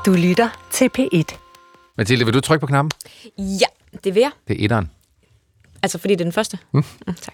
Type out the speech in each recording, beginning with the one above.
Du lytter til P1. Mathilde, vil du trykke på knappen? Ja, det vil jeg. Det er etteren. Altså, fordi det er den første? Tak.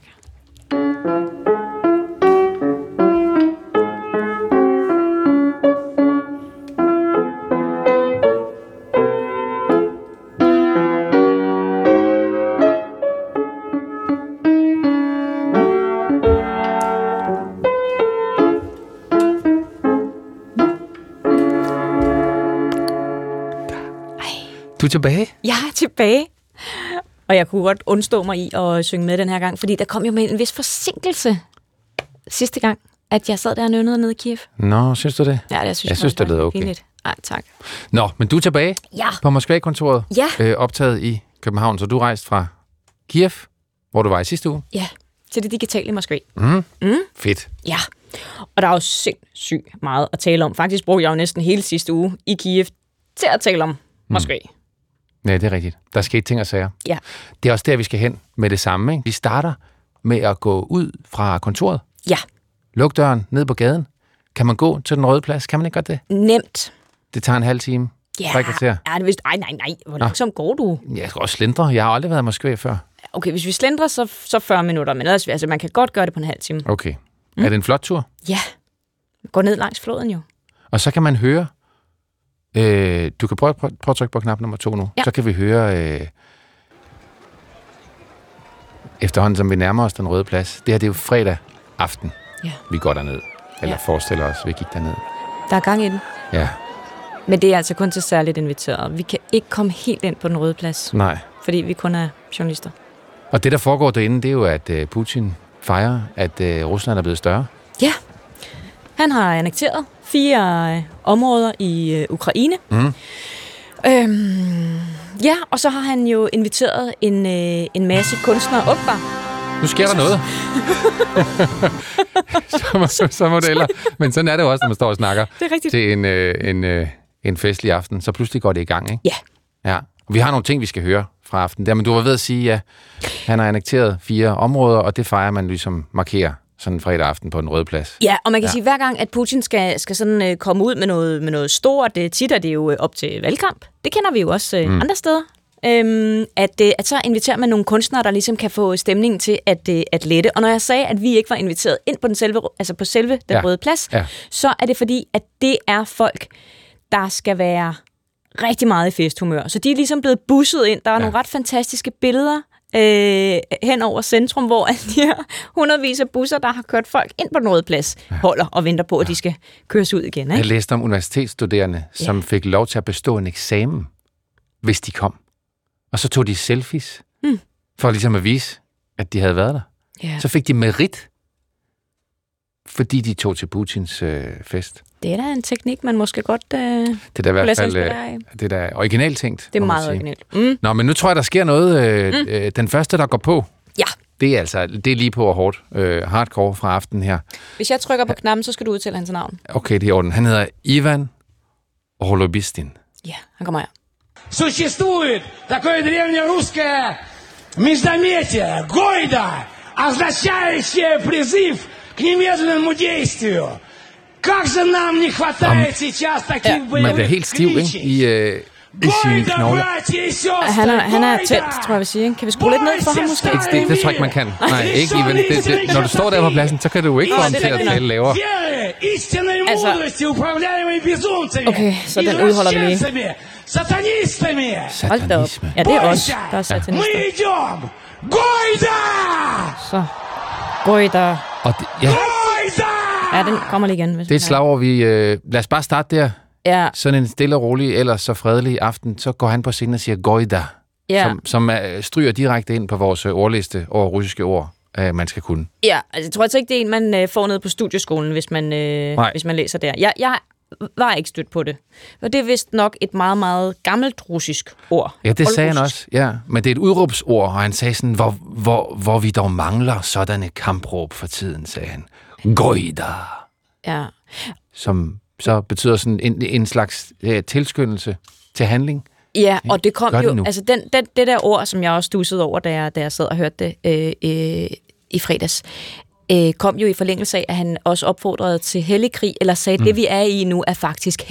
Du er tilbage? Jeg er tilbage. Og jeg kunne godt undstå mig i at synge med den her gang, fordi der kom jo med en vis forsinkelse sidste gang, at jeg sad der og nønnede nede i Kiev. Nå, synes du det? Ja, jeg synes det lyder okay. Pinligt. Ej, tak. Nå, men du er tilbage på Moskva-kontoret, optaget i København, så du rejste fra Kiev, hvor du var i sidste uge. Ja, til det digitale i Moskva. Fedt. Ja, og der er jo sindssygt meget at tale om. Faktisk brugte jeg jo næsten hele sidste uge i Kiev til at tale om Moskva. Ja, det er rigtigt. Der skete ting og sager. Ja. Det er også der, vi skal hen med det samme, ikke? Vi starter med at gå ud fra kontoret. Ja. Luk døren ned på gaden. Kan man gå til den røde plads? Kan man ikke godt det? Nemt. Det tager en halv time. Ja, 3 kvarter. er det vist? Nej. Hvor langsomt går du? Jeg skal også slendre. Jeg har aldrig været i Moskva før. Okay, hvis vi slendrer, så 40 minutter. Men ellers, altså, man kan godt gøre det på en halv time. Okay. Er det en flot tur? Ja. Gå ned langs floden jo. Og så kan man høre... du kan prøve at trykke på knap nummer 2 nu. Ja. Så kan vi høre... efterhånden, som vi nærmer os den røde plads. Det her, det er jo fredag aften. Ja. Vi går derned. Eller forestiller os, vi gik derned. Der er gang i den. Ja. Men det er altså kun til særligt inviteret. Vi kan ikke komme helt ind på den røde plads. Nej. Fordi vi kun er journalister. Og det, der foregår derinde, det er jo, at Putin fejrer, at Rusland er blevet større. Ja. Han har annekteret 4 områder i Ukraine. Ja, og så har han jo inviteret en masse kunstnere op der. Nu sker der noget. så modeller. Men sådan er det jo også, når man står og snakker til en festlig aften. Så pludselig går det i gang, ikke? Ja. Og vi har nogle ting, vi skal høre fra aftenen der. Men du var ved at sige, at han har annekteret 4 områder, og det fejrer man ligesom markerer sådan en fredag aften på den røde plads. Ja, og man kan sige, at hver gang, at Putin skal sådan komme ud med noget stort, tit er det jo op til valgkamp. Det kender vi jo også andre steder. At så inviterer man nogle kunstnere, der ligesom kan få stemningen til at lette. Og når jeg sagde, at vi ikke var inviteret ind på på selve den røde plads, så er det fordi, at det er folk, der skal være rigtig meget i festhumør. Så de er ligesom blevet busset ind. Der er nogle ret fantastiske billeder hen over centrum, hvor de her hundredvis af busser, der har kørt folk ind på den røde plads, holder og venter på, at de skal køres ud igen. Ikke? Jeg læste om universitetsstuderende, som fik lov til at bestå en eksamen, hvis de kom. Og så tog de selfies, for ligesom at vise, at de havde været der. Så fik de merit, fordi de tog til Putins fest. Det er da en teknik, man måske godt det er i hvert fald det er da originalt tænkt. Det er meget originalt. Nå, men nu tror jeg, der sker noget. Den første, der går på, det er lige på og hårdt. Hardcore fra aftenen her. Hvis jeg trykker på knappen, så skal du udtale hans navn. Okay, det er i orden. Han hedder Ivan Holobistin. Ja, han kommer her. Существует такое древнерусское междометие «Гойда», означающее призыв к немедленному действию. Как же нам не хватает сейчас таких боевых man bliver helt stiv, ikke? I sine knogler. Han er tændt, tror jeg vil sige. Kan vi skrue lidt ned for ham måske? Det tror jeg ikke, man kan. Nej, ikke Ivan. Når du står der på pladsen, så kan du ikke få ham til at tale lavere. Okay, så den udholder vi lige. Satanistami! Hold da op. Ja, det er også. Der er satanister. Гойда! Så. Gojda. Ja, den kommer lige igen. det er et slagord, vi... lad os bare starte der. Ja. Sådan en stille og rolig, ellers så fredelig aften, så går han på scenen og siger Gojda, som stryger direkte ind på vores ordliste over russiske ord, man skal kunne. Ja, altså jeg tror altså ikke, det er en, man får ned på studieskolen, hvis man læser der. Jeg var ikke stødt på det. Og det er vist nok et meget, meget gammelt russisk ord. Ja, det sagde han også. Ja, men det er et udråbsord, og han sagde sådan, hvor vi dog mangler sådanne kampråb for tiden, sagde han. Gojda. Ja. Som så betyder sådan en slags tilskyndelse til handling. Ja, og det kom jo, altså det der ord, som jeg også stussede over, da jeg sad og hørte det i fredags, kom jo i forlængelse af, at han også opfordrede til hellig krig, eller sagde, at det vi er i nu er faktisk hellig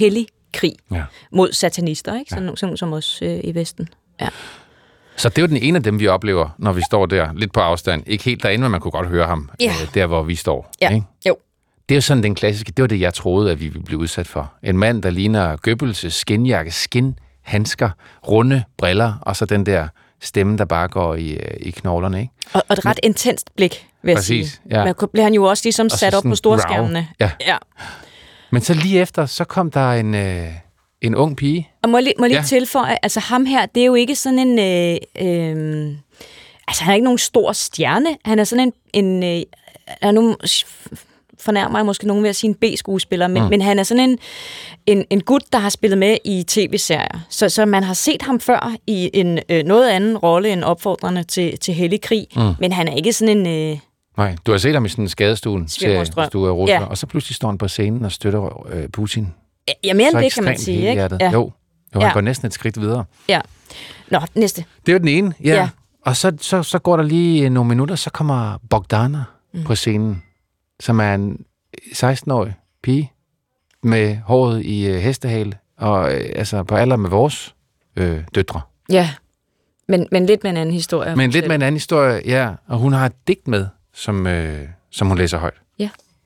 krig mod satanister, ikke? Sådan nogle som os i Vesten. Ja. Så det er jo den ene af dem, vi oplever, når vi står der, lidt på afstand. Ikke helt derinde, men man kunne godt høre ham, der hvor vi står. Ja. Ikke? Jo. Det er jo sådan den klassiske, det var det, jeg troede, at vi ville blive udsat for. En mand, der ligner Goebbels' skinjakke, skinhandsker, runde briller, og så den der stemme, der bare går i knoglerne. Ikke? Og et ret intenst blik, vil jeg sige. Ja. Men bliver han jo også ligesom sat op på storskærmene. Ja. Men så lige efter, så kom der en ung pige. Og må jeg lige tilføje, altså ham her, det er jo ikke sådan en... altså han er ikke nogen stor stjerne. Han er sådan nu fornærmer jeg måske nogen ved at sige en B-skuespiller, men han er sådan en gut, der har spillet med i tv-serier. Så man har set ham før i en noget anden rolle end opfordrende til hellig krig, men han er ikke sådan en... Nej, du har set ham i sådan en skadestuen til Rusland, og så pludselig står han på scenen og støtter Putin. Ja, mere end det, kan man sige, ikke? Ja. Jo, han går næsten et skridt videre. Ja. Nå, næste. Det er jo den ene, ja. Og så går der lige nogle minutter, så kommer Bogdana på scenen, som er en 16-årig pige med håret i hestehale, og altså på alder med vores døtre. Ja, men lidt med en anden historie. Men lidt med en anden historie, ja. Og hun har et digt med, som hun læser højt. Ja.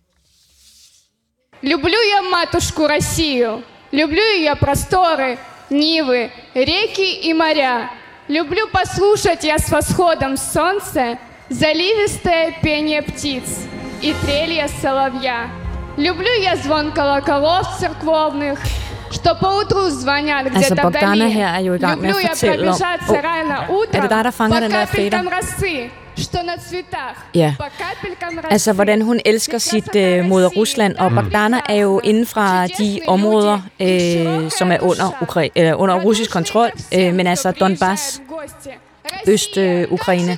Люблю я матушку Россию, люблю ее просторы, нивы, реки и моря. Люблю послушать я с восходом солнца заливистое пение птиц и трелье соловья. Люблю я звон колоколов церковных, что поутру звонят где-то вдали. Люблю я пробежаться рано утром по капелькам росы. Ja, altså hvordan hun elsker sit moder Rusland, og Bogdana er jo inden fra de områder, som er under russisk kontrol, men altså Donbass, Øst-Ukraine.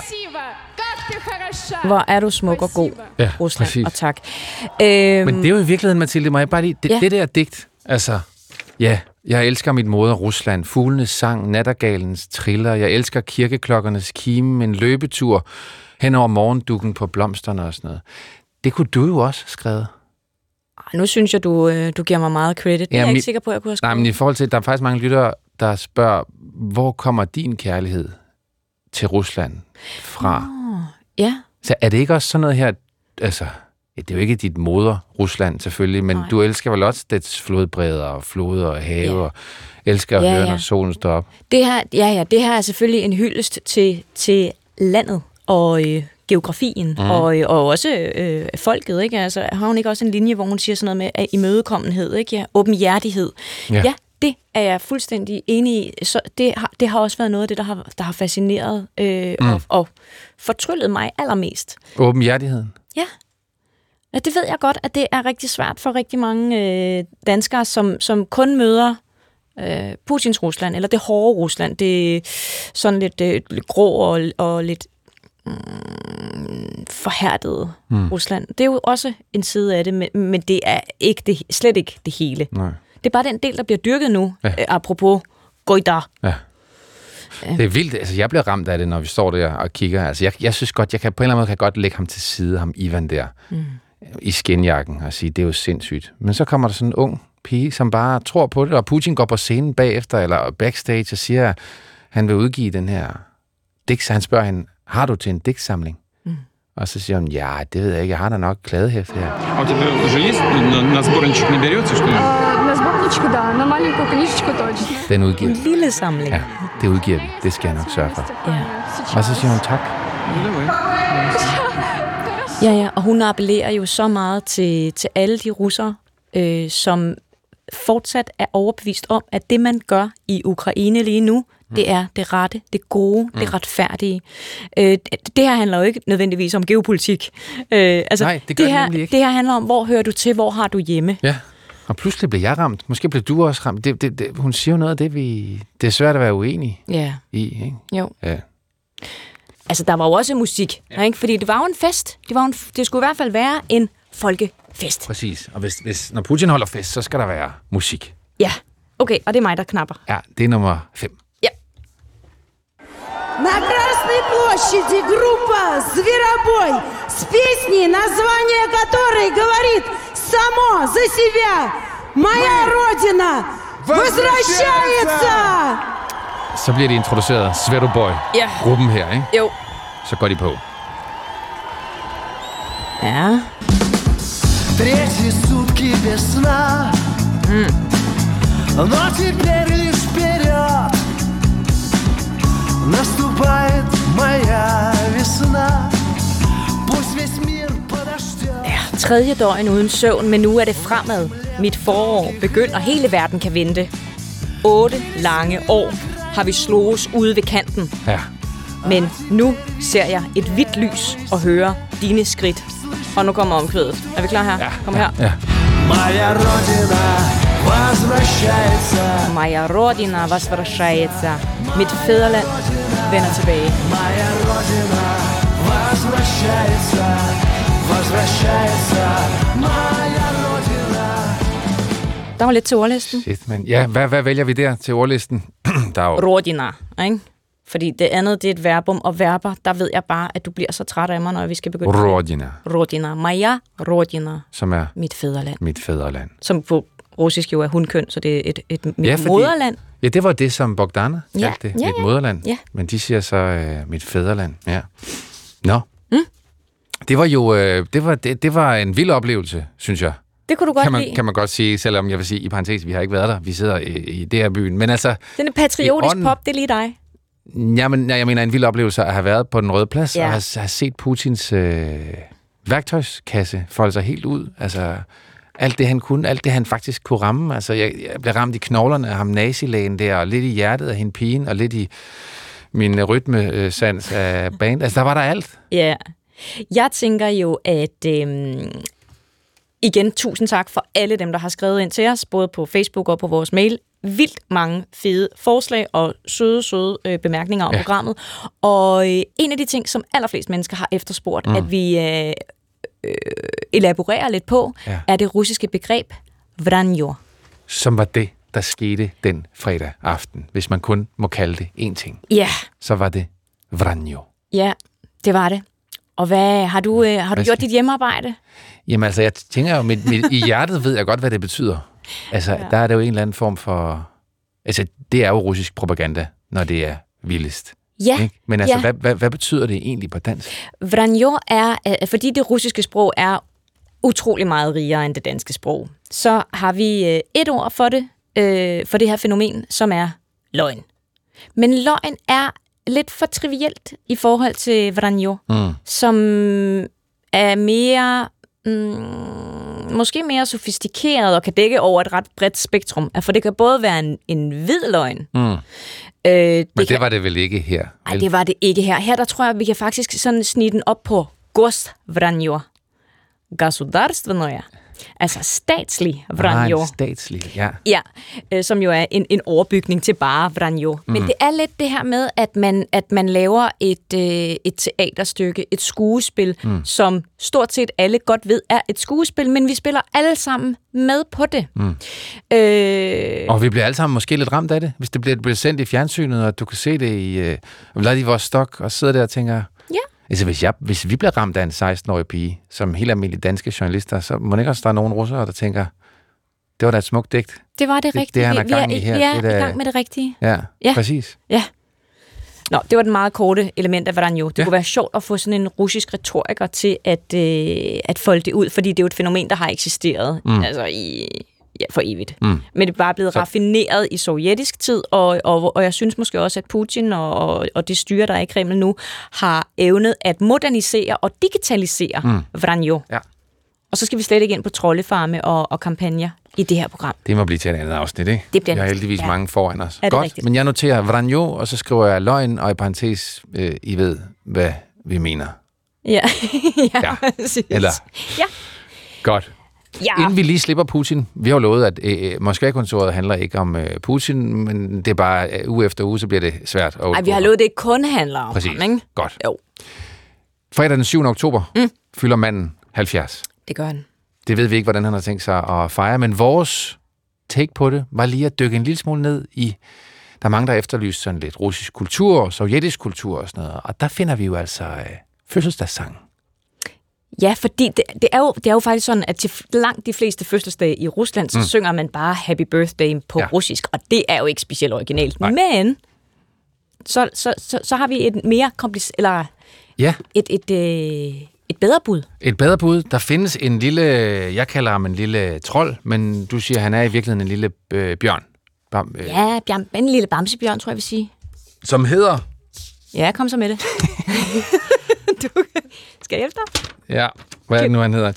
Hvor er du smuk og god, Rusland, præcis. Og tak. Men det er jo i virkeligheden, Mathilde, må jeg bare lige... Det der digt, altså... Ja, jeg elsker mit moder Rusland, fuglenes sang, nattergalens triller, jeg elsker kirkeklokkernes kime, en løbetur hen over morgendukken på blomsterne og sådan noget. Det kunne du jo også skrevet. Nu synes jeg, du giver mig meget credit. Det er jeg ikke sikker på, at jeg kunne have skrevet. Nej, men i forhold til, der er faktisk mange lyttere, der spørger, hvor kommer din kærlighed til Rusland fra? Ja. Så er det ikke også sådan noget her, altså... Ja, det er jo ikke dit moder, Rusland selvfølgelig, men du elsker vel også dets flodbredder og floder og have, og elsker at høre, når solen står op. Det her er selvfølgelig en hyldest til landet og geografien, og også folket, ikke? Altså, har hun ikke også en linje, hvor hun siger sådan noget med imødekommenhed, ikke? Ja, åbenhjertighed. Ja, det er jeg fuldstændig enig i. Så det har også været noget af det, der har fascineret og fortryllet mig allermest. Åbenhjertigheden? Ja. Ja, det ved jeg godt, at det er rigtig svært for rigtig mange danskere, som kun møder Putins Rusland, eller det hårde Rusland. Det er sådan lidt grå og lidt forhærdet Rusland. Det er jo også en side af det, men det er ikke slet ikke det hele. Nej. Det er bare den del, der bliver dyrket nu, apropos Goida. Ja. Det er vildt. Altså, jeg bliver ramt af det, når vi står der og kigger. Altså, jeg synes godt, jeg kan på en eller anden måde godt lægge ham til side, ham Ivan der, i skinjakken, og sige, det er jo sindssygt. Men så kommer der sådan en ung pige, som bare tror på det, og Putin går på scenen bagefter, eller backstage, og siger, at han vil udgive den her digt. Så han spørger hende, har du til en digtsamling? Og så siger hun, ja, det ved jeg ikke, jeg har da nok kladehæfte her. Og det уже есть на сборничек наберется, что ли? На сборничку, да, на маленькую книжечку точно. Den udgiver en lille samling. Ja, det udgiver vi. Det skal jeg nok sørge for. Ja. Og så siger hun tak. Ja, og hun appellerer jo så meget til alle de russere, som fortsat er overbevist om, at det, man gør i Ukraine lige nu, det er det rette, det gode, det retfærdige. Det her handler jo ikke nødvendigvis om geopolitik. Nej, det gør det nemlig ikke. Det her handler om, hvor hører du til, hvor har du hjemme. Ja, og pludselig bliver jeg ramt. Måske bliver du også ramt. Hun siger jo noget af det, det er svært at være uenig i. Ikke? Jo. Ja. Altså, der var jo også musik, ikke? Fordi det var jo en fest. Det skulle i hvert fald være en folkefest. Præcis. Og hvis når Putin holder fest, så skal der være musik. Ja, okay, og det er mig, der knapper. Ja, det er nummer 5. Ja. На Красной площади группа «Зверобой» с песней, название которой говорит само за себя. Моя родина. Родина возвращается! Så bliver de introduceret. Zveroboy. Ja. Gruppen her, ikke? Jo. Så går de på. Ja. Третьи сутки без сна, но теперь лишь вперед наступает моя весна. Пусть весь мир подождет. Ja, tredje døgn uden søvn, men nu er det fremad. Mit forår begynder, hele verden kan vente. 8 lange år har vi slået ude ved kanten. Ja. Men nu ser jeg et hvidt lys og hører dine skridt. Og nu kommer omkvædet. Er vi klar her? Ja. Kom her. Ja. Моя родина возвращается. Моя родина возвращается. Mit fædreland vender tilbage. Моя родина возвращается. Возвращается. Моя родина. Der var lidt til ordlisten. Shit, men ja, hvad vælger vi der til ordlisten? Der er jo... Rodina, ikke? Fordi det andet, det er et verbum, og verber, der ved jeg bare, at du bliver så træt af mig, når vi skal begynde. Rodina. Rodina. Moja rodina. Som er mit fædreland. Mit fædreland. Som på russisk jo er hundkøn, så det er et ja, moderland. Ja, det var det, som Bogdana kaldte det. Ja, mit moderland. Ja. Men de siger så mit fædreland. Ja. Nå. Det var jo det var en vild oplevelse, synes jeg. Det kunne du godt lide. Kan man godt sige, selvom jeg vil sige i parentes, vi har ikke været der. Vi sidder i det her byen. Men altså... Den er patriotisk pop, det er lige dig. Jamen, jeg mener en vild oplevelse at have været på den Røde Plads, og have set Putins værktøjskasse folde sig helt ud. Altså, alt det han kunne, alt det han faktisk kunne ramme. Altså, jeg blev ramt i knoglerne af ham nazilægen der, og lidt i hjertet af hende pigen, og lidt i min rytmesans af band. Altså, der var der alt. Ja. Jeg tænker jo, at... igen, tusind tak for alle dem, der har skrevet ind til os, både på Facebook og på vores mail. Vildt mange fede forslag og søde bemærkninger om programmet. Og en af de ting, som allerflest mennesker har efterspurgt, at vi elaborerer lidt på, er det russiske begreb vranjo. Som var det, der skete den fredag aften. Hvis man kun må kalde det én ting. Ja. Så var det vranjo. Ja, det var det. Og hvad har du gjort dit hjemmearbejde? Jamen altså, jeg tænker jo, i hjertet ved jeg godt, hvad det betyder. Altså, der er det jo en eller anden form for... Altså, det er jo russisk propaganda, når det er vildest. Ja. Ikke? Men altså, hvad betyder det egentlig på dansk? Vranjo er, fordi det russiske sprog er utrolig meget rigere end det danske sprog, så har vi et ord for det her fænomen, som er løgn. Men løgn er lidt for trivielt i forhold til vranjo, som er mere... måske mere sofistikeret og kan dække over et ret bredt spektrum. For det kan både være en hvid løgn. Men det var det vel ikke her? Nej, det var det ikke her. Her der tror jeg, vi kan faktisk sådan snige den op på gost-vranjo. Gasudarstvennoja. Altså statslig vranjo. Statslig, ja. Ja, som jo er en overbygning til bare vranjo. Men det er lidt det her med, at man laver et teaterstykke, et skuespil, som stort set alle godt ved er et skuespil, men vi spiller alle sammen med på det. Og vi bliver alle sammen måske lidt ramt af det, hvis det bliver sendt i fjernsynet, og du kan se det i Vladivostok, og sidder der og tænker... Ja. Altså, hvis vi bliver ramt af en 16-årig pige, som helt almindelige danske journalister, så må det ikke også der er nogen russere, der tænker, det var da et smukt digt. Det var det rigtige. Det han er gang i her. Ja, i gang med det rigtige. Ja, præcis. Ja. Nå, det var den meget korte element af vranjo. Det kunne være sjovt at få sådan en russisk retoriker til at folde det ud, fordi det er jo et fænomen, der har eksisteret altså for evigt. Men det er bare blevet raffineret i sovjetisk tid, og jeg synes måske også, at Putin og det styre, der er i Kreml nu, har evnet at modernisere og digitalisere vranjo. Ja. Og så skal vi slet ikke ind på troldefarme og kampagner i det her program. Det må blive til et andet afsnit, ikke? Det bliver jeg har heldigvis mange foran os. Godt, rigtigt? Men jeg noterer vranjo, og så skriver jeg løgn, og i parentes, I ved, hvad vi mener. Ja. Eller? Ja. Godt. Ja. Inden vi lige slipper Putin, vi har jo lovet, at Moskva-kontoret handler ikke om Putin, men det er bare uge efter uge, så bliver det svært. Nej, vi har lovet, det ikke kun handler om ham, ikke? Godt. Jo. Fredag den 7. oktober fylder manden 70. Det gør han. Det ved vi ikke, hvordan han har tænkt sig at fejre, men vores take på det var lige at dykke en lille smule ned i... Der er mange, der efterlyser sådan lidt russisk kultur, sovjetisk kultur og sådan noget, og der finder vi jo altså fødselsdagssang. Ja, fordi det er jo faktisk sådan, at til langt de fleste fødselsdage i Rusland, så synger man bare Happy Birthday på russisk, og det er jo ikke specielt originalt. Nej. Men så har vi et mere kompliceret, eller et bedre bud. Et bedre bud. Der findes en lille, jeg kalder ham en lille trold, men du siger, han er i virkeligheden en lille bjørn. En lille bamsebjørn, tror jeg vil sige. Som hedder? Ja, kom så med det. Skal jeg efter? Ja, hvad er det nu, han hedder?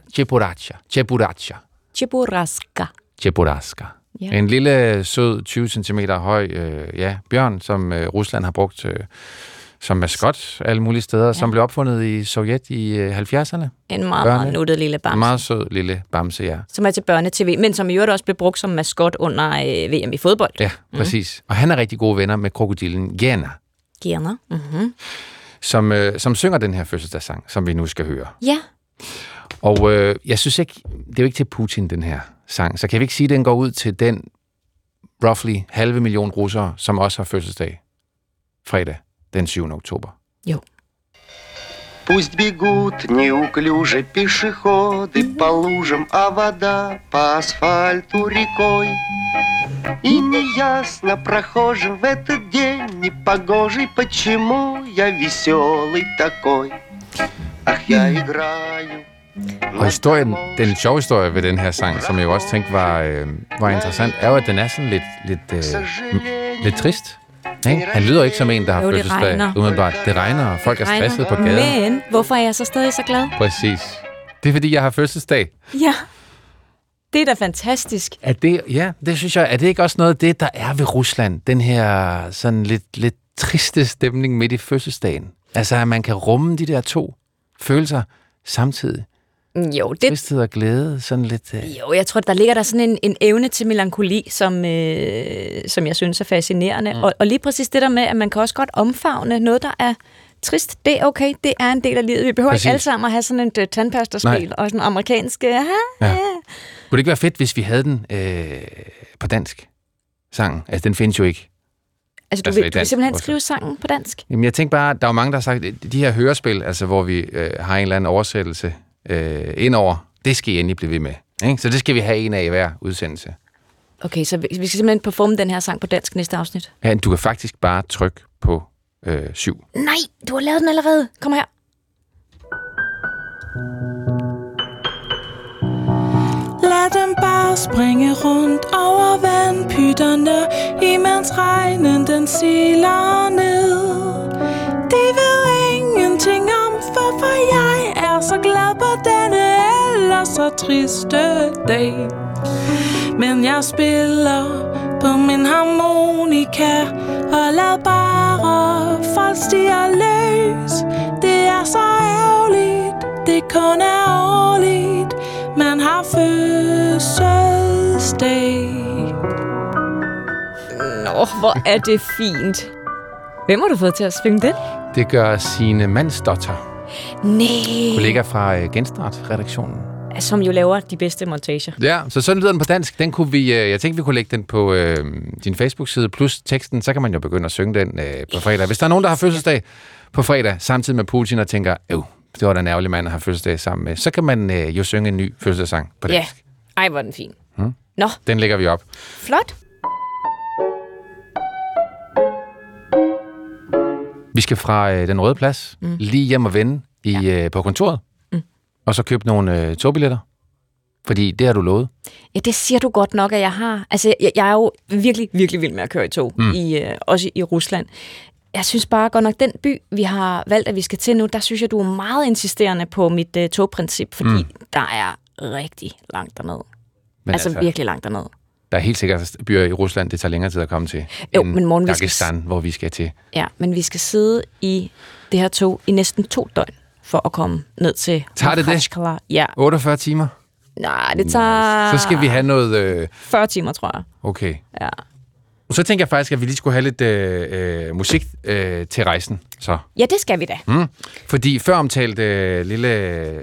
Cheburaska. Ja. En lille, sød, 20 cm høj bjørn, som Rusland har brugt som maskot alle mulige steder, som blev opfundet i Sovjet i 70'erne. En meget nuttet lille bamse. En meget sød lille bamse, ja. Som er til børne-tv, men som i øvrigt også blev brugt som maskot under VM i fodbold. Ja, præcis. Og han er rigtig gode venner med krokodillen Gena. Som synger den her fødselsdagssang, som vi nu skal høre. Ja. Og jeg synes ikke, det er jo ikke til Putin, den her sang, så kan vi ikke sige, at den går ud til den roughly 500.000 russere, som også har fødselsdag fredag den 7. oktober. Jo. Пусть бегут неуклюже пешеходы по лужам, а вода по асфальту рекой. И неясно прохожим в этот день непогожий, почему я веселый такой. Ах, я играю. Og historien, den sjove historie ved den her sang, som jeg også tænkte var interessant, er jo, at den er sådan lidt trist. Ikke? Han lyder ikke som en, der har fødselsdag umiddelbart. Det regner, og folk er stresset på gaden. Men hvorfor er jeg så stadig så glad? Præcis. Det er, fordi jeg har fødselsdag. Ja, det er da fantastisk. Det synes jeg. Er det ikke også noget af det, der er ved Rusland? Den her sådan lidt triste stemning midt i fødselsdagen. Altså, at man kan rumme de der to følelser samtidig. Jo, det... Tristhed og glæde, sådan lidt... Jo, jeg tror, der ligger der sådan en evne til melankoli, som jeg synes er fascinerende. Og lige præcis det der med, at man kan også godt omfavne noget, der er trist. Det er okay, det er en del af livet. Vi behøver ikke alle sammen at have sådan en tandpastaspil og sådan en amerikansk... Ja. Kunne det ikke være fedt, hvis vi havde den på dansk? Sangen. Altså, den findes jo ikke. Altså, du vil simpelthen skrive sangen på dansk? Jamen, jeg tænker bare, der er jo mange, der har sagt, de her hørespil, altså, hvor vi har en eller anden oversættelse indover, det skal I endelig blive ved med. Ikke? Så det skal vi have en af i hver udsendelse. Okay, så vi skal simpelthen performe den her sang på dansk næste afsnit? Ja, du kan faktisk bare trykke på 7. Nej, du har lavet den allerede. Kom her. Lad dem bare springe rundt over vandpytterne, imens regnen den siler ned. De ved ingenting om, hvorfor jeg er så glad på denne ellers så triste dag. Men jeg spiller på min harmonika, og lad bare folk stiger løs. Det er så ærgerligt, det kun er årligt, man har fødselsdag. Nå, hvor er det fint. Hvem har du fået til at synge den? Det gør Signe Mandsdotter. Nej. Kollega fra Genstart-redaktionen. Som jo laver de bedste montager. Ja, så sådan lyder den på dansk. Den kunne vi, jeg tænkte, vi kunne lægge den på din Facebook-side, plus teksten, så kan man jo begynde at synge den på fredag. Hvis der er nogen, der har fødselsdag på fredag, samtidig med Putin, og tænker, det var da en ærgerlig mand at have fødselsdag sammen med, så kan man jo synge en ny fødselsdagssang på dansk. Ja, ej, hvor er den fin. Nå. Den lægger vi op. Flot. Vi skal fra Den Røde Plads lige hjem og vende på kontoret, og så købe nogle togbilletter, fordi det har du lovet. Ja, det siger du godt nok, at jeg har. Altså, jeg er jo virkelig, virkelig vild med at køre i tog, også i Rusland. Jeg synes bare godt nok, den by, vi har valgt, at vi skal til nu, der synes jeg, du er meget insisterende på mit togprincip, fordi der er rigtig langt dernede. Altså virkelig langt dernede. Der er helt sikkert byer i Rusland, det tager længere tid at komme til, end Dagestan, hvor vi skal til. Ja, men vi skal sidde i det her tog i næsten 2 døgn, for at komme ned til... Tager det det? Ja. 48 timer? Nej, det tager... Så skal vi have noget... 40 timer, tror jeg. Okay. Ja. Så tænker jeg faktisk, at vi lige skulle have lidt musik til rejsen. Så. Ja, det skal vi da. Fordi før omtalt lille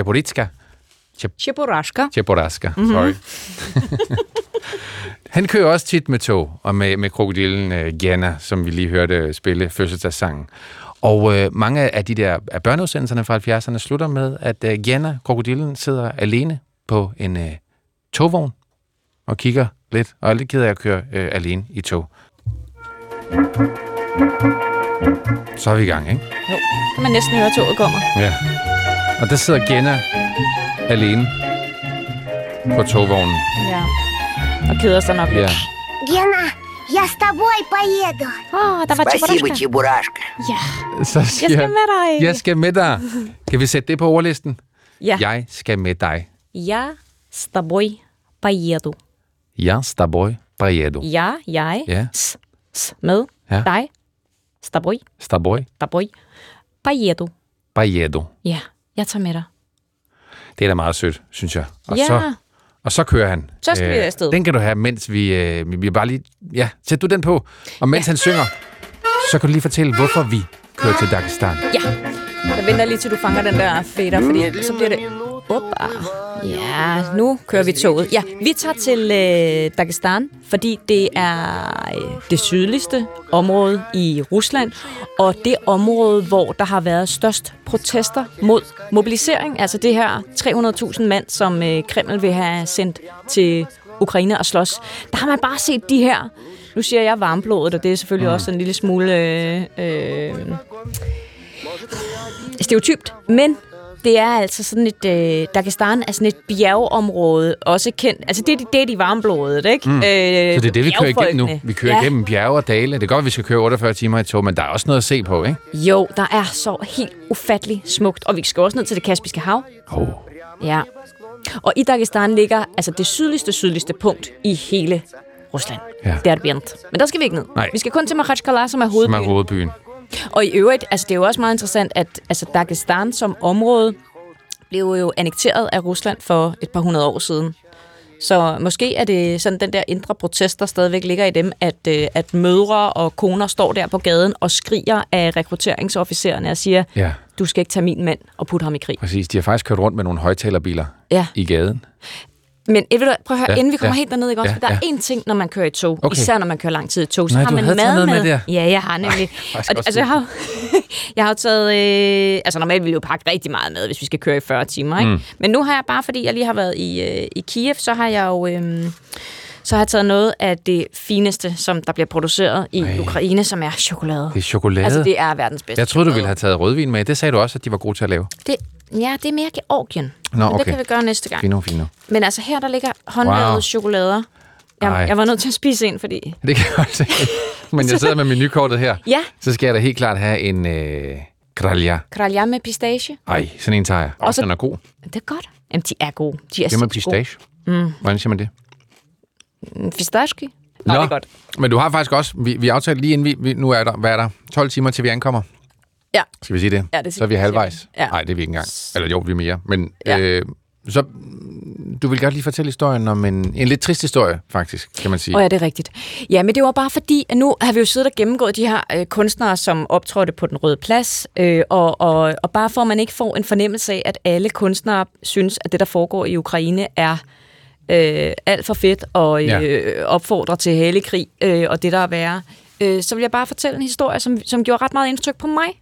Cheburaska, sorry. Han kører også tit med tog, og med krokodillen Gena, som vi lige hørte spille fødselsdagssangen. Og mange af de der børneudsendelserne fra 70'erne slutter med, at Jenna, krokodillen, sidder alene på en togvogn og kigger lidt, og er lidt ked af at køre alene i tog. Så er vi i gang, ikke? Jo, kan man næsten høre, at toget kommer. Ja. Og der sidder Jenna alene på togvognen. Ja. Og keder sig nok lidt. Ja. Гена, я с тобой поеду. Der var Спасибо, Чебурашка. Ja. Så siger Jeg skal med dig. Jeg skal med dig. Kan vi sætte det på ordlisten? Ja. Jeg skal med dig. Я с тобой поеду. Jeg с тобой поеду. Jeg Ja. med Ja. dig. С тобой. С тобой Поеdu. поеду. Ja, jeg tager med dig. Det er da meget sødt, synes jeg. Ja. Og så kører han. Så skal vi afsted. Den kan du have, mens vi bare lige... Ja, sæt du den på. Og mens han synger, så kan du lige fortælle, hvorfor vi kører til Dagestan. Ja. Jeg venter lige til du fanger den der fader, fordi så bliver det... Oppa. Ja, nu kører vi toget. Ja, vi tager til Dagestan, fordi det er det sydligste område i Rusland, og det område, hvor der har været størst protester mod mobilisering. Altså det her 300.000 mand, som Kreml vil have sendt til Ukraine og slås. Der har man bare set de her... Nu siger jeg varmblodet, og det er selvfølgelig også en lille smule stereotypt, men det er altså sådan et... Dagestan er sådan et bjergeområde, også kendt... Altså det er de varmblodede, ikke? Så det er det, vi kører igennem nu. Vi kører igennem bjerge og dale. Det er godt, at vi skal køre 48 timer i tog, men der er også noget at se på, ikke? Jo, der er så helt ufatteligt smukt, og vi skal også ned til det Kaspiske Hav. Ja. Og i Dagestan ligger altså det sydligste punkt i hele Rusland. Ja. Det er Derbent. Men der skal vi ikke ned. Nej. Vi skal kun til Makhachkala, som er hovedbyen. Som er hovedbyen. Og i øvrigt, altså det er jo også meget interessant, at altså Dagestan som område blev jo annekteret af Rusland for et par hundrede år siden. Så måske er det sådan den der indre protest, der stadigvæk ligger i dem, at mødre og koner står der på gaden og skriger af rekrutteringsofficererne og siger, du skal ikke tage min mand og putte ham i krig. Præcis, de har faktisk kørt rundt med nogle højtalerbiler i gaden. Men prøv at høre, inden vi kommer helt derned, ikke også? Der er én ting, når man kører i tog, især når man kører lang tid i tog, så har man mad med. Ja, jeg har nemlig. Altså, jeg har jo taget... altså, normalt vil jeg jo pakke rigtig meget med, hvis vi skal køre i 40 timer, ikke? Men nu har jeg bare, fordi jeg lige har været i Kiev, så har jeg jo... Så har jeg taget noget af det fineste, som der bliver produceret i Ukraine, som er chokolade. Det er chokolade? Altså, det er verdens bedste. Jeg troede, du ville have taget rødvin med. Det sagde du også, at de var gode til at lave. Det er mere Georgien. Nå, okay. Men det kan vi gøre næste gang. Fino. Men altså, her der ligger håndlavede chokolader. Jeg var nødt til at spise en, fordi... Det kan jeg også. Men jeg sidder med menukortet her. Ja. Så skal jeg da helt klart have en kralja. Kralja med pistache. Ej, sådan en tager jeg. Den er god. Det er godt. Jamen, de er gode. De er det med pistache. Hvordan siger man det? Pistache. Nå, det er godt. Men du har faktisk også... Vi aftalte lige inden vi nu er der... Hvad er der? 12 timer til vi ankommer? Ja. Skal vi sige det? Ja, det så er vi halvvejs. Ja. Nej, det er vi ikke engang. Eller jo, vi er mere. Men så du vil godt lige fortælle historien om en lidt trist historie, faktisk, kan man sige. Ja, det er rigtigt. Ja, men det var bare fordi, at nu har vi jo siddet og gennemgået de her kunstnere, som optrådte på Den Røde Plads, og bare for at man ikke får en fornemmelse af, at alle kunstnere synes, at det, der foregår i Ukraine, er alt for fedt og opfordrer til hellig krig og det, der er værre. Så vil jeg bare fortælle en historie, som gjorde ret meget indtryk på mig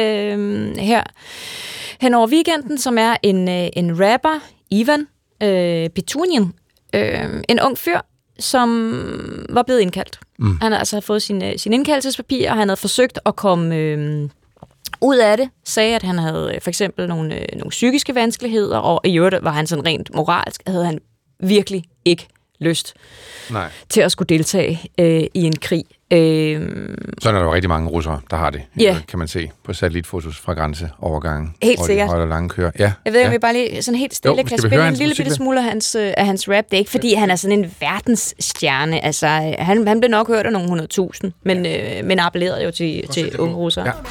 her hen over weekenden, som er en rapper, Ivan Petunin, en ung fyr, som var blevet indkaldt. Han altså havde fået sin indkaldelsespapir, og han havde forsøgt at komme ud af det, sagde, at han havde for eksempel nogle psykiske vanskeligheder, og i øvrigt var han sådan rent moralsk, havde han virkelig ikke lyst til at skulle deltage i en krig. Sådan er der jo rigtig mange russere, der har det, kan man se på satellitfotos fra grænseovergangen. Helt sikkert. Hvor de lange kører. Ja. Jeg ved ikke, om vi bare lige sådan helt stille kan spille en lille bitte smule af hans rap. Det er ikke, fordi han er sådan en verdensstjerne. Altså, han blev nok hørt af nogle 100.000, men appellerede jo til unge russere. Ja.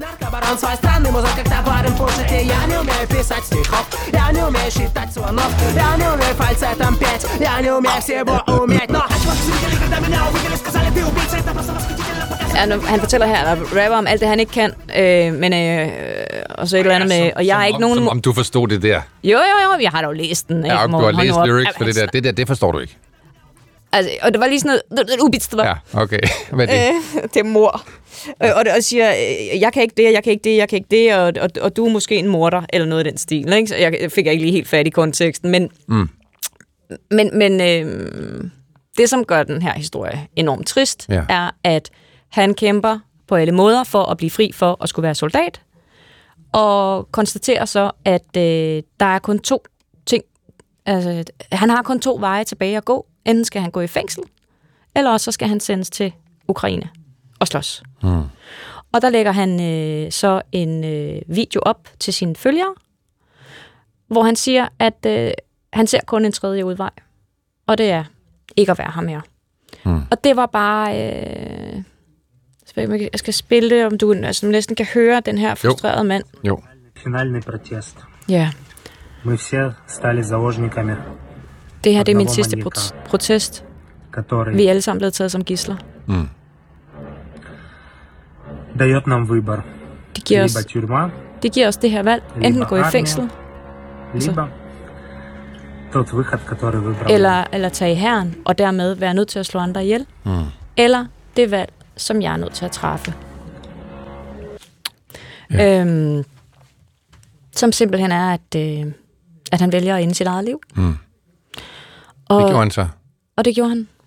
Han fortæller her, at rapper om alt det, han ikke kan, men og så et eller andet med, og jeg er ikke nogen... Som om du forstod det der. Jo, jeg har da jo læst den. Ja, du har læst lyrics for det der. Det forstår du ikke. Altså, og det var lige sådan noget ubits, det var. Ja, okay. Hvad er det? Det er mor. Og siger, jeg kan ikke det, jeg kan ikke det, jeg kan ikke det, og du er måske en morder, eller noget af den stil. Ikke? Så jeg fik ikke lige helt fat i konteksten, men det, som gør den her historie enormt trist, er, at han kæmper på alle måder for at blive fri for at skulle være soldat, og konstaterer så, at der er kun 2 ting. Altså, han har kun 2 veje tilbage at gå. Enten skal han gå i fængsel, eller også så skal han sendes til Ukraine og slås. Og der lægger han så en video op til sine følgere, hvor han siger, at han ser kun en 3. udvej, og det er ikke at være her mere. Og det var bare... jeg skal spille det, om du næsten kan høre den her frustrerede mand. Jo. Finalny protest. Ja. Мы все стали заложниками. Det her det er min sidste protest. Vi er alle sammen blevet taget som gidsler. Дает нам выбор. Det giver os det her valg. Enten gå i fængsel, тот выход, который выбрал. Eller tage i hæren, og dermed være nødt til at slå andre ihjel. Eller det valg, som jeg er nødt til at træffe. Ja. Som simpelthen er, at han vælger at ende sit eget liv. Og, det gjorde han så. Og det gjorde han.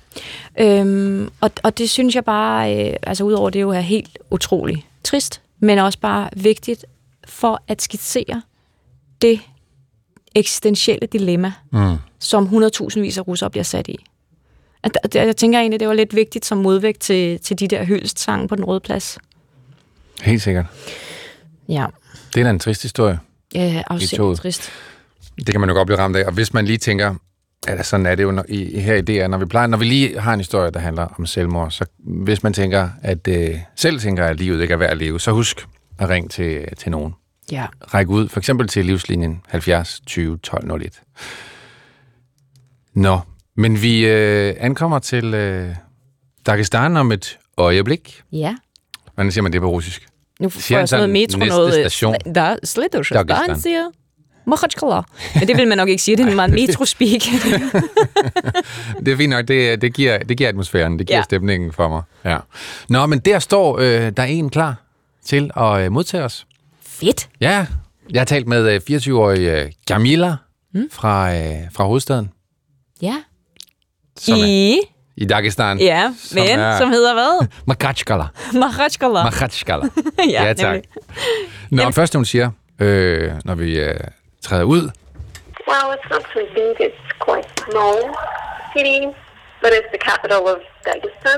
Og det synes jeg bare, altså udover det jo er helt utroligt trist, men også bare vigtigt for at skitsere det eksistentielle dilemma, som 100.000 af russere bliver sat i. Jeg tænker egentlig, det var lidt vigtigt som modvægt til de der hyldestsange på Den Røde Plads. Helt sikkert. Ja. Det er da en trist historie. Ja, afsindigt trist. Det kan man jo godt blive ramt af. Og hvis man lige tænker, at sådan er det jo her i DR, når vi lige har en historie, der handler om selvmord, så hvis man tænker, at selv tænker, at livet ikke er værd at leve, så husk at ringe til nogen. Ja. Ræk ud, for eksempel til livslinjen 70 20 12 01. Nå, men vi ankommer til Dagestan om et øjeblik. Ja. Hvordan siger man det på russisk? Nu får jeg sådan noget metro, noget... Station. Der следующая станция. Махачкала. Men det vil man nok ikke sige, det er meget metro-speak. Det er fint nok, det giver atmosfæren, det giver stemningen for mig. Ja. Nå, men der står der en klar til at modtage os. Fedt. Ja, jeg har talt med 24-årige Kamila fra hovedstaden. Ja. I Dagestan. Ja, som hedder hvad? Makhachkala. Makhachkala. Ja, tak. Nå, først hun siger, når vi træder ud. Well, it's not so big. It's quite small city, but it's the capital of Dagestan.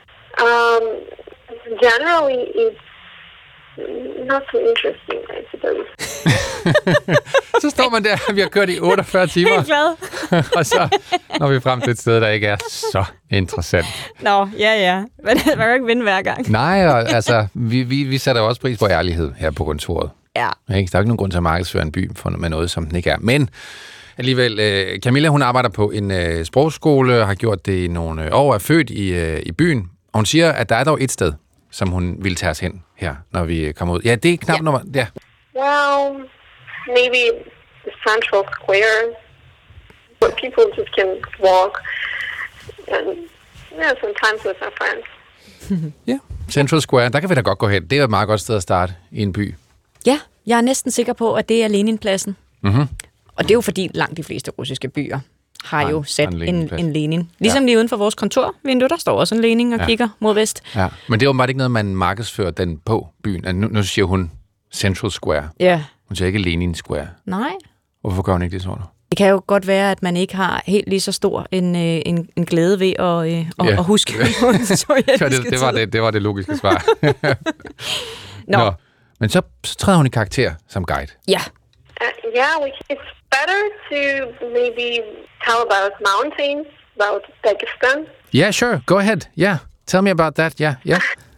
Generally, it's not so interesting, I suppose. Så står man der, vi har kørt i 48 timer. Helt glad. Og så når vi frem til et sted, der ikke er så interessant. Nå, ja. Men man kan ikke vinde hver gang. Nej, og altså, vi sætter jo også pris på ærlighed her på kontoret. Ja. Der er ikke nogen grund til at markedsføre en by med noget, som den ikke er. Men alligevel, Kamila, hun arbejder på en sprogskole, har gjort det i nogle år, er født i byen. Og hun siger, at der er dog et sted, som hun vil tage os hen her, når vi kommer ud. Ja, det er knap nummer... Ja. Well, maybe the Central Square, where people just can walk, and sometimes with my friends. Ja, Central Square, der kan vi da godt gå hen. Det er et meget godt sted at starte i en by. Ja, jeg er næsten sikker på, at det er Leninpladsen. Mm-hmm. Og det er jo fordi langt de fleste russiske byer har jo sat en Lenin. Ligesom lige uden for vores kontorvindue, der står også en Lenin og kigger mod vest. Ja, men det er jo bare ikke noget, man markedsfører den på byen. Nu siger hun Central Square. Ja. Hun siger ikke Lenin Square. Nej. Hvorfor gør hun ikke det, tror du? Det kan jo godt være, at man ikke har helt lige så stor en glæde ved at huske. Det var det logiske svar. Nå. Men så træder hun i karakter som guide. Ja. It's better to maybe tell about mountains, about Dagestan. Yeah, sure. Go ahead. Yeah. Tell me about that. Yeah. We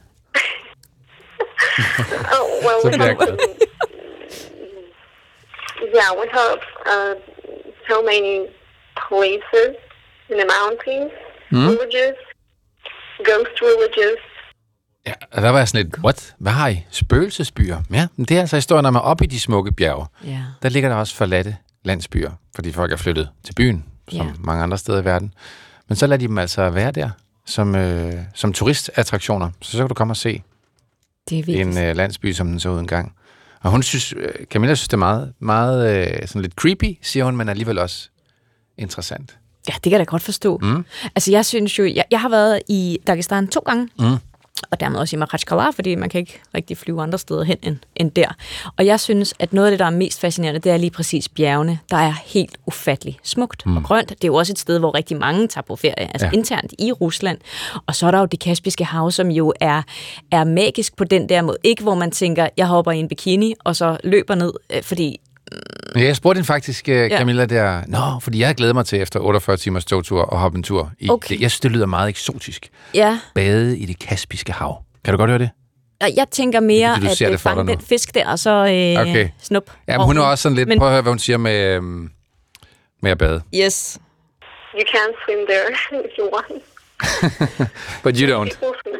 have so many places in the mountains, villages, ghost villages. Ja, og der var jeg sådan lidt, what? Hvad har I? Spøgelsesbyer? Ja, men det er altså historien om, at oppe i de smukke bjerge, der ligger der også forladte landsbyer, fordi folk er flyttet til byen, som mange andre steder i verden. Men så lader de dem altså være der som turistattraktioner, så kan du komme og se en landsby, som den så ud engang. Og hun synes, Camilla synes, det er meget sådan lidt creepy, siger hun, men alligevel også interessant. Ja, det kan jeg da godt forstå. Altså, jeg synes jo, jeg har været i Dagestan 2 gange, og dermed også i Makhachkala, fordi man kan ikke rigtig flyve andre steder hen end der. Og jeg synes, at noget af det, der er mest fascinerende, det er lige præcis bjergene, der er helt ufattelig smukt og grønt. Det er jo også et sted, hvor rigtig mange tager på ferie, altså internt i Rusland. Og så er der jo det Kaspiske Hav, som jo er magisk på den der måde. Ikke hvor man tænker, jeg hopper i en bikini, og så løber ned, fordi... Ja, jeg spurgte hende faktisk, Camilla, der... fordi jeg havde glædet mig til efter 48 timers togtur og hoppe en tur. Jeg synes, det lyder meget eksotisk. Ja. Bade i det Kaspiske Hav. Kan du godt høre det? Jeg tænker mere, at fange den fisk der, og så snup. Ja, men hun er også sådan lidt... Prøv at høre, hvad hun siger med at bade. Yes. You can swim there if you want. But you don't.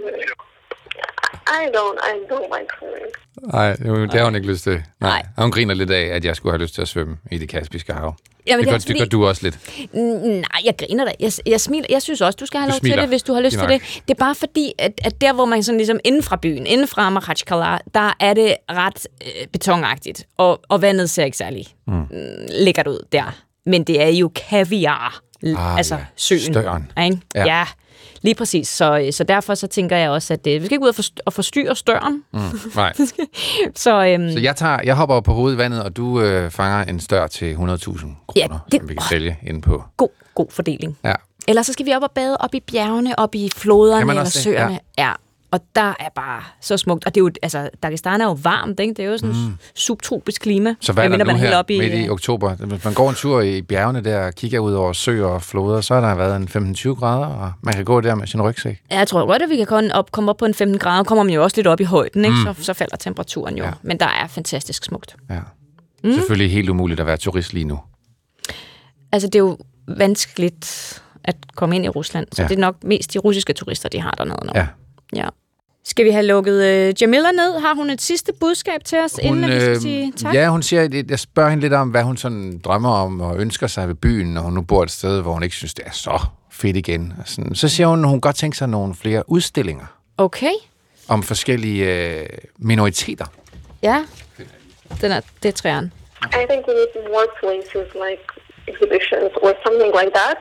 I don't like swimming. Nej, det har hun ikke lyst til. Nej. Og hun griner lidt af, at jeg skulle have lyst til at svømme i det Kaspiske Hav. Jamen, det gør du også lidt. Nej, jeg griner da. Jeg smiler. Jeg synes også, du skal have lov til det, hvis du har lyst til det. Det er bare fordi, at der, hvor man sådan ligesom inden fra byen, inden fra Makhachkala, der er det ret betonagtigt. Og vandet ser ikke særlig lækkert ud der. Men det er jo kaviar. Altså søen. Støren. Ja. Lige præcis. Så derfor så tænker jeg også, at vi skal ikke ud og forstyrre støren. Nej. Så jeg hopper på hovedet i vandet, og du fanger en stør til 100.000 kroner, som vi kan sælge inde på. God fordeling. Ja. Eller så skal vi op og bade op i bjergene, op i floderne eller søerne. Ja. Og der er bare så smukt. Og det er jo, altså, Dagestan er jo varmt, ikke? Det er jo sådan subtropisk klima. Så hvad er der nu her midt i oktober? Hvis man går en tur i bjergene der og kigger ud over søer og floder, så har der været en 15-20 grader, og man kan gå der med sin rygsæk. Ja, jeg tror godt, at vi kan komme op på en 15 grader. Kommer man jo også lidt op i højden, ikke? Så falder temperaturen jo. Ja. Men der er fantastisk smukt. Ja. Selvfølgelig helt umuligt at være turist lige nu. Altså, det er jo vanskeligt at komme ind i Rusland, så det er nok mest de russiske turister, de har dernede nu. Ja. Skal vi have lukket Jamila ned? Har hun et sidste budskab til os, inden vi skal sige tak? Ja, hun siger, jeg spørger hende lidt om, hvad hun sådan drømmer om og ønsker sig ved byen, når hun nu bor et sted, hvor hun ikke synes, det er så fedt igen. Så siger hun, at hun godt tænker sig nogle flere udstillinger. Okay. Om forskellige minoriteter. Ja, det er træerne. I think we need more places like exhibitions or something like that.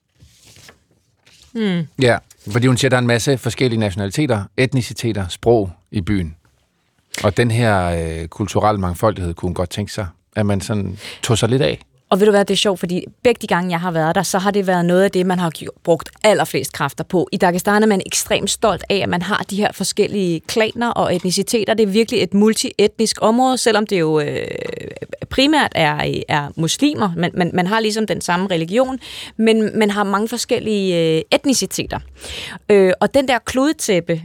Ja, fordi hun siger, at der er en masse forskellige nationaliteter, etniciteter, sprog i byen. Og den her kulturelle mangfoldighed kunne hun godt tænke sig, at man sådan tog sig lidt af. Og ved du hvad, det er sjovt, fordi begge de gange, jeg har været der, så har det været noget af det, man har brugt allerflest kræfter på. I Dagestan er man ekstremt stolt af, at man har de her forskellige klaner og etniciteter. Det er virkelig et multietnisk område, selvom det jo primært er muslimer. Man har ligesom den samme religion, men man har mange forskellige etniciteter. Og den der kludetæppe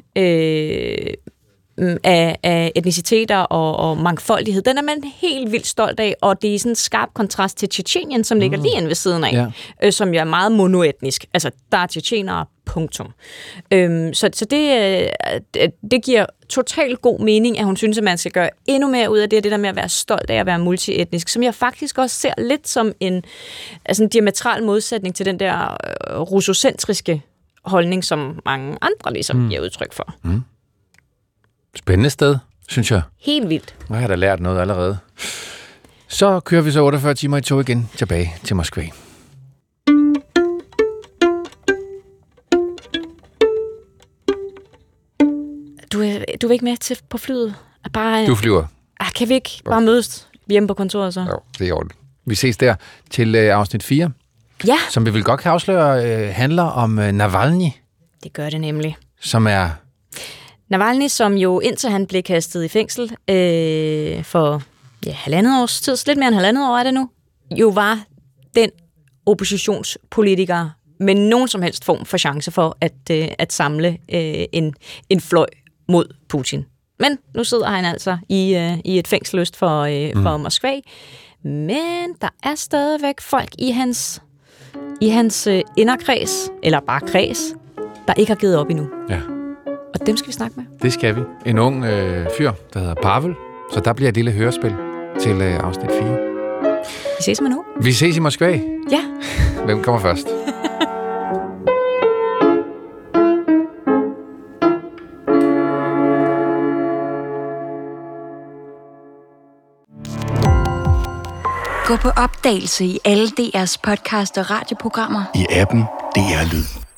af etniciteter og mangfoldighed, den er man helt vildt stolt af, og det er sådan en skarp kontrast til Tjetjenien, som ligger lige inde ved siden af, som jo er meget monoetnisk. Altså, der er tjetjenere, punktum. Så det giver totalt god mening, at hun synes, at man skal gøre endnu mere ud af det der med at være stolt af at være multietnisk, som jeg faktisk også ser lidt som en diametral modsætning til den der russocentriske holdning, som mange andre ligesom giver udtryk for. Spændende sted, synes jeg. Helt vildt. Jeg har da lært noget allerede. Så kører vi så 48 timer i tog igen tilbage til Moskva. Du er ikke med til på flyet? Du flyver. Kan vi ikke bare mødes hjemme på kontoret så? Jo, det er ordentligt. Vi ses der til afsnit 4. Ja. Som vi vil godt kan afsløre, handler om Navalny. Det gør det nemlig. Som er... Navalny, som jo indtil han blev kastet i fængsel for halvandet års tid, lidt mere end halvandet år er det nu, jo var den oppositionspolitiker med nogen som helst form for chance for at samle en fløj mod Putin. Men nu sidder han altså i et fængsel øst for Moskva. Men der er stadigvæk folk i hans inderkreds, eller bare kreds, der ikke har givet op endnu. Ja. Og dem skal vi snakke med. Det skal vi. En ung fyr, der hedder Pavel. Så der bliver et lille hørespil til afsnit 4. Vi ses med nu. Vi ses i Moskva. Ja. Hvem kommer først? Gå på opdagelse i alle DR's podcast og radioprogrammer. I appen DR Lyd.